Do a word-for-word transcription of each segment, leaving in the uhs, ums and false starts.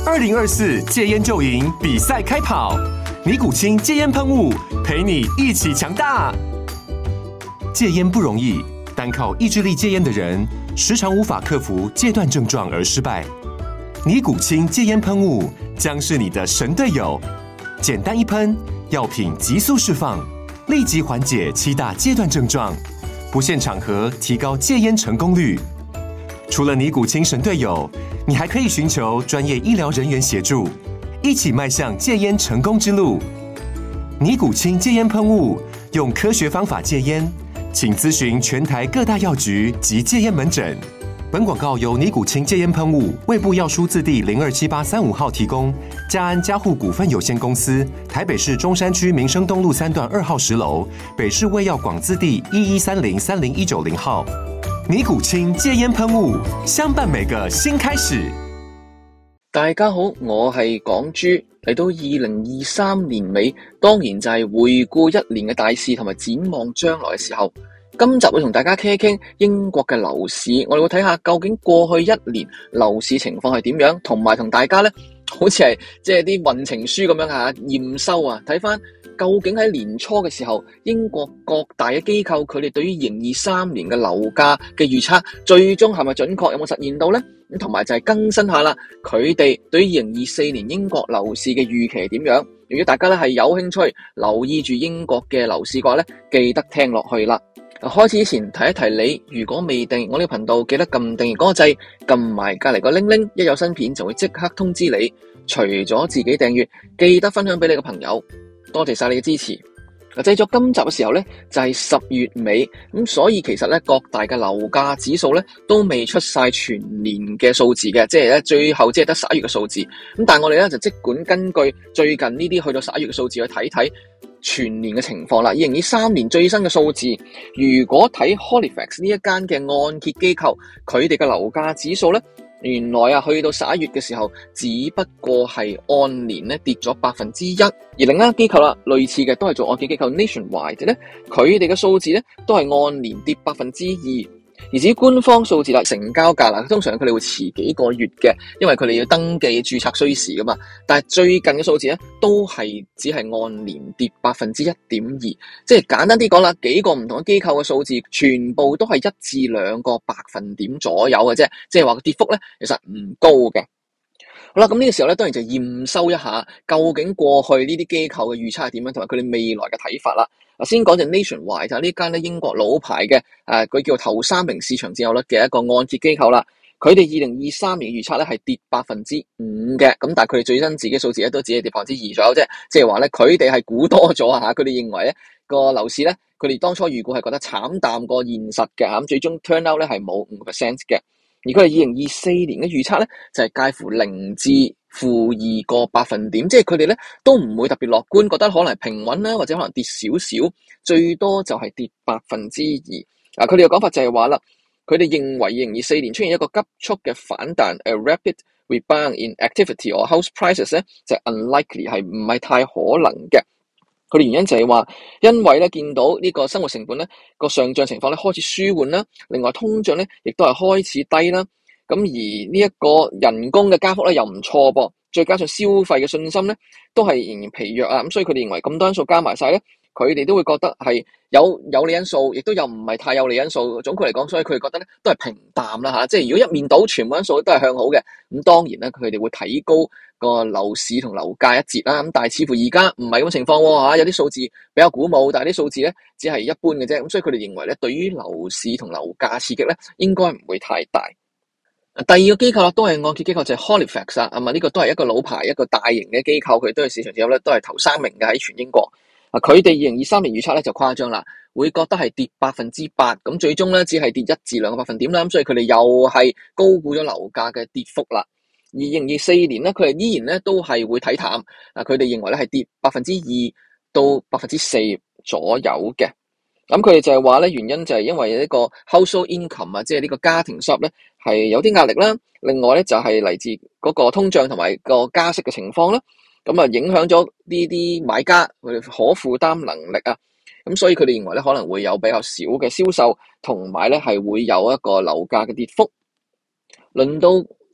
二零二四戒菸就贏比賽開跑，尼古清戒菸噴霧陪你一起強大。戒菸不容易，單靠意志力戒菸的人，時常無法克服戒斷症狀而失敗。尼古清戒菸噴霧將是你的神隊友，簡單一噴，藥品急速釋放，立即緩解七大戒斷症狀，不限場合提高戒菸成功率。除了尼古清神隊友，你還可以尋求專業醫療人員協助，一起邁向戒菸成功之路。尼古清戒菸噴霧，用科學方法戒菸，請諮詢全台各大藥局及戒菸門診。本廣告由尼古清戒菸噴霧、衛部藥書字第零二七八三五號提供，嘉安嘉護股份有限公司，台北市中山區民生東路三段二號十樓，北市衛藥廣字第一一三零三零一九零號。尼古清戒菸噴霧，相伴每個新開始。 大家好，我係港豬。嚟到二零二三年尾，當然就係回顧一年嘅大事同埋展望將來嘅時候。今集會同大家傾一傾英國嘅樓市，我哋會睇下究竟過去一年樓市情況係點樣，同埋同大家咧，好似係即係啲運程書咁樣吓驗收啊，睇翻究竟喺年初嘅時候，英國各大嘅機構佢哋對於二零二三年嘅樓價嘅預測，最終係咪準確，有冇實現到呢？咁同埋就係更新下啦，佢哋對於二零二四年英國樓市嘅預期係點樣？如果大家咧係有興趣留意住英國嘅樓市嘅話咧，記得聽落去啦。開始之前提一提你，如果未訂我呢個頻道，記得撳訂閱嗰個掣，撳埋隔籬個鈴鈴，一有新片就會即刻通知你。除咗自己訂閱，記得分享俾你嘅朋友。多謝晒你嘅支持。製作今集嘅時候咧，就係十月尾，咁所以其實咧各大嘅樓價指數咧都未出晒全年嘅數字嘅，即係咧最後只係得十一月嘅數字。咁但係我哋咧就即管根據最近呢啲去到十一月嘅數字去睇睇全年嘅情況啦。二零二三年最新嘅數字，如果睇 Halifax 呢一間嘅按揭機構，佢哋嘅樓價指數咧，原來啊去到十一月嘅時候，只不過係按年咧跌咗百分之一。而另一間機構啦，類似嘅都係做按揭機構 Nationwide 咧，佢哋嘅數字咧都係按年跌百分之二。而至於官方數字啦，成交價啦，通常佢哋會遲幾個月嘅，因為佢哋要登記註冊需時噶嘛。但係最近嘅數字咧，都係只係按年跌百分之一點二，即係簡單啲講啦，幾個唔同嘅機構嘅數字，全部都係一至兩個百分點左右嘅啫，即係話個跌幅咧，其實唔高嘅。好啦，咁呢個時候咧，當然就驗收一下，究竟過去呢啲機構嘅預測係點樣，同埋佢哋未來嘅睇法啦。先講就 Nationwide 就係呢間咧英國老牌嘅誒，佢叫頭三名市場佔有率嘅一個按揭機構啦。佢哋二零二三年預測咧係跌百分之五嘅，咁但係佢哋最新自己數字咧都只係跌百分之二左右啫。即係話咧，佢哋係估多咗啊！佢哋認為咧個樓市咧，佢哋當初預估係覺得慘淡過現實嘅，咁最終 turn out 咧係冇五個 percent 嘅。而佢哋二零二四年嘅預測咧就係介乎零至負二個百分點，即係佢哋咧都唔會特別樂觀，覺得可能係平穩啦，或者可能跌少少，最多就係跌百分之二。嗱，佢哋嘅講法就係話啦，佢哋認為二零二四年出現一個急速嘅反彈 ，a rapid rebound in activity or house prices 咧，就係 unlikely 係唔係太可能嘅。佢哋原因就係話，因為咧見到呢個生活成本咧個上漲情況咧開始舒緩啦，另外通脹咧亦都係開始低啦。咁而呢一個人工嘅加幅咧又唔錯噃，再加上消費嘅信心咧都係仍然疲弱啊，咁所以佢哋認為咁多因素加埋晒咧，佢哋都會覺得係有有利因素，亦都有唔係太有利因素。總括嚟講，所以佢哋覺得咧都係平淡啦吓，即係如果一面倒全部因素都係向好嘅，咁當然咧佢哋會提高個樓市同樓價一截啦。咁但係似乎而家唔係咁嘅情況吓，有啲數字比較鼓舞，但係啲數字咧只係一般嘅啫。咁所以佢哋認為咧，對於樓市同樓價刺激咧，應該唔會太大。第二個機構啦，都係按揭機構，就係 Halifax 啊，咁啊呢個都係一個老牌一個大型嘅機構，佢都係市場佔有率都係頭三名嘅喺全英國。啊，佢哋二零二三年預測咧就誇張啦，會覺得係跌百分之八，咁最終咧只係跌一至兩個百分點啦，咁所以佢哋又係高估咗樓價嘅跌幅啦。而二零二四年咧，佢哋依然咧都係會睇淡，啊佢哋認為咧係跌百分之二到百分之四左右嘅。咁佢哋就係話咧，原因就係因為呢個 household income 啊，即係呢個家庭收入咧係有啲壓力啦。另外咧就係嚟自嗰個通脹同埋個加息嘅情況啦。咁啊影響咗呢啲買家佢哋可負擔能力啊。咁所以佢哋認為咧可能會有比較少嘅銷售，同埋咧係會有一個樓價嘅跌幅。輪到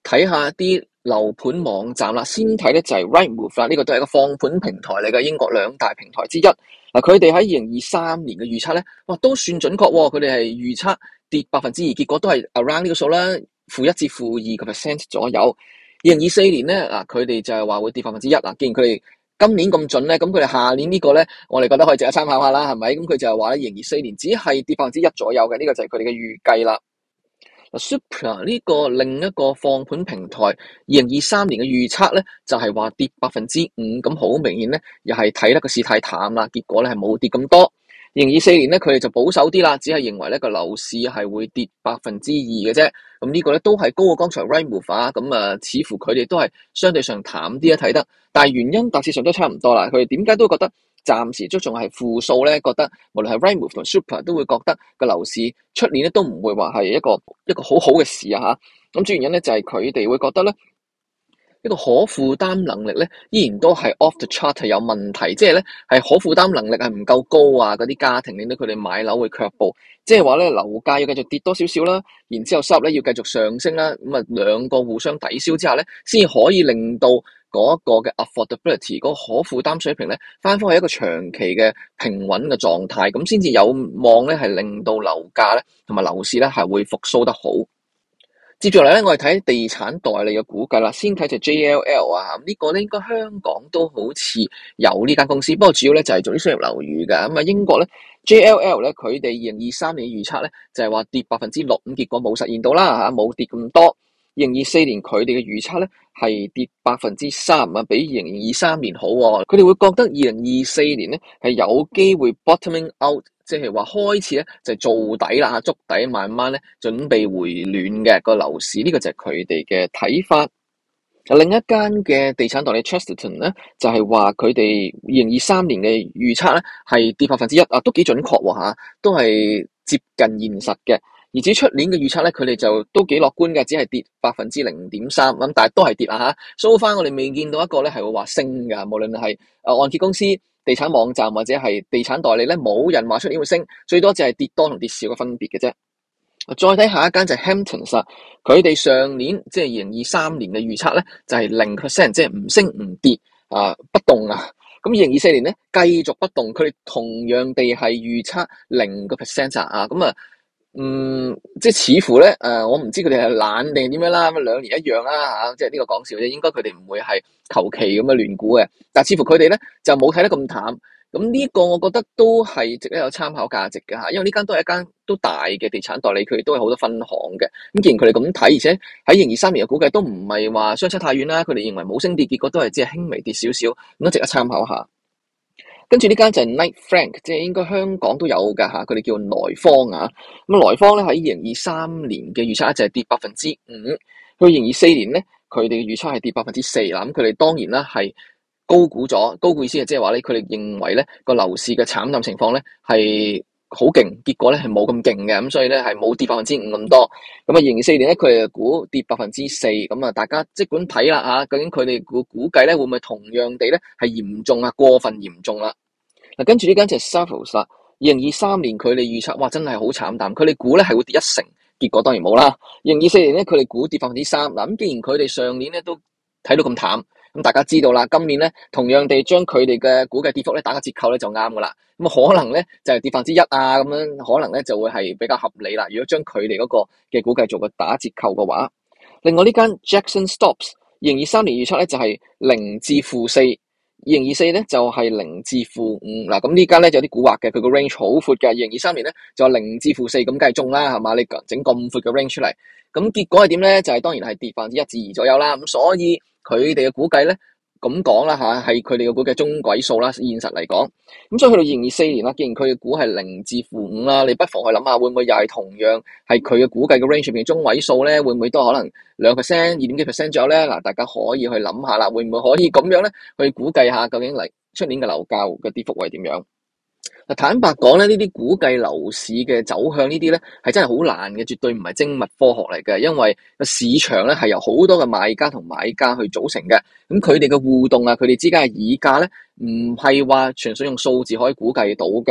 睇下啲樓盤網站啦，先睇咧就係 Rightmove 啦，呢個都係一個放盤平台嚟嘅，英國兩大平台之一。嗱，佢哋喺二零二三年嘅預測咧，哇都算準確喎，佢哋係預測跌百分之二，結果都係 around 呢個數啦，負一至負二個 percent 左右。二零二四年咧，嗱佢哋就係話會跌百分之一啊，既然佢哋今年咁準咧，咁佢哋下年個呢個咧，我哋覺得可以值得參考下啦，係咪？咁佢就係話咧，二零二四年只係跌百分之一左右嘅，呢、這個就係佢哋嘅預計啦。Super 呢個另一個放盤平台，二零二三年嘅預測咧就係話跌百分之五，咁好明顯咧，又係睇得個市太淡啦，結果咧係冇跌咁多。二零二四年咧，佢哋就保守啲啦，只係認為咧個樓市係會跌百分之二嘅啫。咁呢個咧都係高過剛才 Rightmove 啊，咁啊，似乎佢哋都係相對上淡啲啊睇得，但係原因大致上都差唔多啦。佢哋點解都覺得暫時都仲係負數咧？覺得無論係 Rightmove 同 Super 都會覺得個樓市出年咧都唔會話係一個一個好好嘅事啊嚇。咁主要原因咧就係佢哋會覺得咧，一個可負擔能力咧，依然都係 off the chart 係有問題，即係咧係可負擔能力係唔夠高啊！嗰啲家庭令到佢哋買樓會卻步，即係話咧樓價要繼續跌多少少啦，然之後收入咧要繼續上升啦，咁啊兩個互相抵消之下咧，先可以令到嗰個嘅 affordability 嗰個可負擔水平咧翻返去一個長期嘅平穩嘅狀態，咁先至有望咧係令到樓價咧同埋樓市咧係會復甦得好。接住嚟咧，我哋睇地產代理嘅估計啦。先睇就 J L L 啊，呢、這個咧應該香港都好似有呢間公司，不過主要咧就係做啲商業樓宇嘅。咁啊，英國咧 J L L 咧，佢哋二零二三年預測咧就係話跌百分之六，咁結果冇實現到啦嚇，冇跌咁多。二零二四年佢哋嘅預測咧係跌百分之三啊，比二零二三年好喎。佢哋會覺得二零二四年咧係有機會 bottoming out。即係話開始咧就做底啦，築底慢慢咧準備回暖嘅個樓市，呢、這個就係佢哋嘅睇法。另一間嘅地產代理 Chesterton 咧就係話佢哋二零二三年嘅預測咧係跌百分之一啊，都幾準確喎嚇，都係接近現實嘅。而至於出年嘅預測咧，佢哋就都幾樂觀嘅，只係跌百分之零點三咁，但係都係跌啦嚇。so far我哋未見到一個咧係會話升㗎，無論係誒按揭公司、地產網站或者係地產代理咧，冇人話出年會升，最多就係跌多同跌少嘅分別嘅啫。再睇下一間就係 Hamptons，佢哋上年即係二零二三年嘅預測咧就係零 percent， 即係唔升唔跌啊，不動啊。咁二零二四年咧繼續不動，佢哋同樣地係預測零個 percent 啊。咁啊，嗯，即係似乎咧誒、呃，我唔知佢哋係懶定點樣啦。咁兩年一樣啦嚇，即係呢個講笑啫。應該佢哋唔會係求其咁嘅亂估嘅，但係似乎佢哋咧就冇睇得咁淡。咁呢個我覺得都係值得有參考價值嘅嚇，因為呢間都係一間都大嘅地產代理，佢哋都係好多分行嘅。咁既然佢哋咁睇，而且喺二零二三年嘅估計都唔係話相差太遠啦，佢哋認為冇升跌，結果都係只係輕微跌少少，咁都值得參考下。跟住呢間就係 Knight Frank，即係應該香港都有㗎嚇，佢哋叫萊坊啊。咁萊坊咧喺二零二三年嘅預測就係跌百分之五，去二零二四年咧佢哋嘅預測係跌百分之四啦。咁佢哋當然啦係高估咗，高估意思係即係話咧，佢哋認為咧個樓市嘅慘淡情況咧係好勁，結果咧係冇咁勁嘅，咁所以咧係冇跌百分之五咁多。咁啊，二零二四年咧佢哋估跌百分之四，咁啊大家即管睇啦嚇，究竟佢哋估估計咧會唔會同樣地咧係嚴重啊，過分嚴重啦？嗱，跟住呢間就係 Savills 啦，二零二三年佢哋預測哇真係好慘淡，佢哋估咧係會跌一成，結果當然冇啦。二零二四年咧佢哋估跌百分之三，嗱咁既然佢哋上年咧都睇到咁淡。咁大家知道啦，今年咧同樣地將佢哋嘅估計跌幅咧打個折扣咧就啱噶啦。咁可能咧就係跌百分之一啊，咁樣可能咧就會係比較合理啦。如果將佢哋嗰個嘅估計做個打折扣嘅話，另外呢間 Jackson Stops 二零二三年預測咧就係零至負四，二零二四咧就係零至負五。嗱咁呢間咧就有啲蠱惑嘅，佢個 range 好闊嘅。二零二三年咧就零至負四，咁梗係中啦，係嘛？你整咁闊嘅 range 出嚟，咁結果係點咧？就係、是、當然係跌百分之一至二左右啦。咁所以佢哋嘅估計咧，咁講啦嚇，係佢哋嘅估計中軌數啦。現實嚟講，咁所以去到二零二四年啦，既然佢嘅估係零至負五啦，你不妨去諗下，會唔會又係同樣係佢嘅估計嘅 range 入邊中軌數咧？會唔會都可能兩 percent、二點幾 percent 左右咧？嗱，大家可以去諗下啦，會唔會可以咁樣咧去估計下究竟嚟出年嘅樓價嘅跌幅係點樣？嗱，坦白講咧，呢啲估計樓市嘅走向呢啲咧，係真係好難嘅，絕對唔係精密科學嚟嘅。因為個市場咧係由好多嘅買家同買家去組成嘅，咁佢哋嘅互動啊，佢哋之間嘅議價咧，唔係話純粹用數字可以估計到嘅。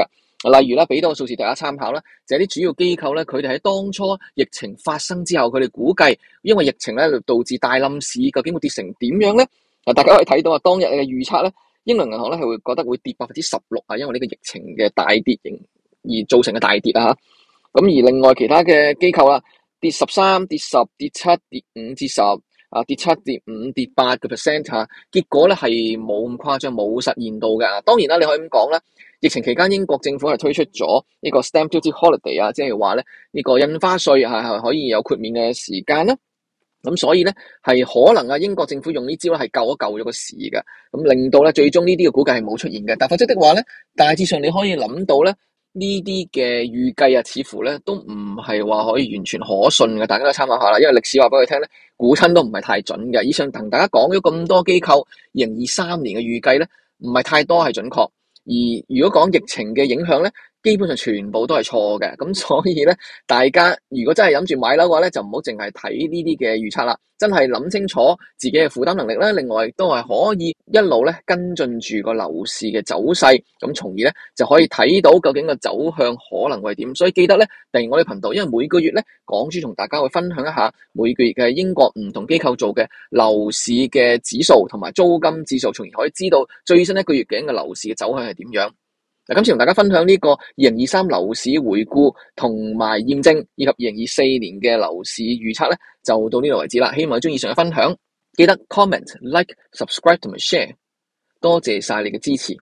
例如啦，俾多個數字大家參考啦，就係啲主要機構咧，佢哋喺當初疫情發生之後，佢哋估計因為疫情咧導致大冧市，究竟會跌成點樣咧？嗱，大家可以睇到啊，當日嘅預測咧，英倫銀行咧係會覺得會跌百分之十六啊，因為呢個疫情嘅大跌而造成嘅大跌啊。咁而另外其他嘅機構啦，跌十三、跌十、跌七、跌五至十啊，跌七、跌五、跌八個 percent 嚇，結果咧係冇咁誇張，冇實現到嘅。當然啦，你可以咁講啦。疫情期間，英國政府係推出咗呢個 Stamp Duty Holiday 啊，即係話咧呢個印花稅係係可以有豁免嘅時間啦。咁所以咧係可能啊，英國政府用呢招咧係救一救咗個市嘅，咁令到咧最終呢啲嘅估計係冇出現嘅。但否則的話咧，大致上你可以諗到咧呢啲嘅預計啊，似乎咧都唔係話可以完全可信嘅。大家都參考下啦，因為歷史話俾佢聽咧，估親都唔係太準嘅。以上同大家講咗咁多機構二零二三年嘅預計咧，唔係太多係準確。而如果講疫情嘅影響咧，基本上全部都係錯嘅，咁所以咧，大家如果真係諗住買樓嘅話咧，就唔好淨係睇呢啲嘅預測啦，真係諗清楚自己嘅負擔能力咧。另外亦都係可以一路咧跟進住個樓市嘅走勢，咁從而咧就可以睇到究竟個走向可能會點。所以記得咧訂閱我哋頻道，因為每個月咧港豬同大家會分享一下每個月嘅英國唔同機構做嘅樓市嘅指數同埋租金指數，從而可以知道最新一個月嘅樓市嘅走向係點樣。嗱，今次同大家分享呢個二零二三樓市回顧同埋驗證，以及二零二四年嘅樓市預測咧，就到呢度為止啦。希望你鍾意以上嘅分享，記得 comment、like、subscribe 同埋 share，多謝晒你嘅支持。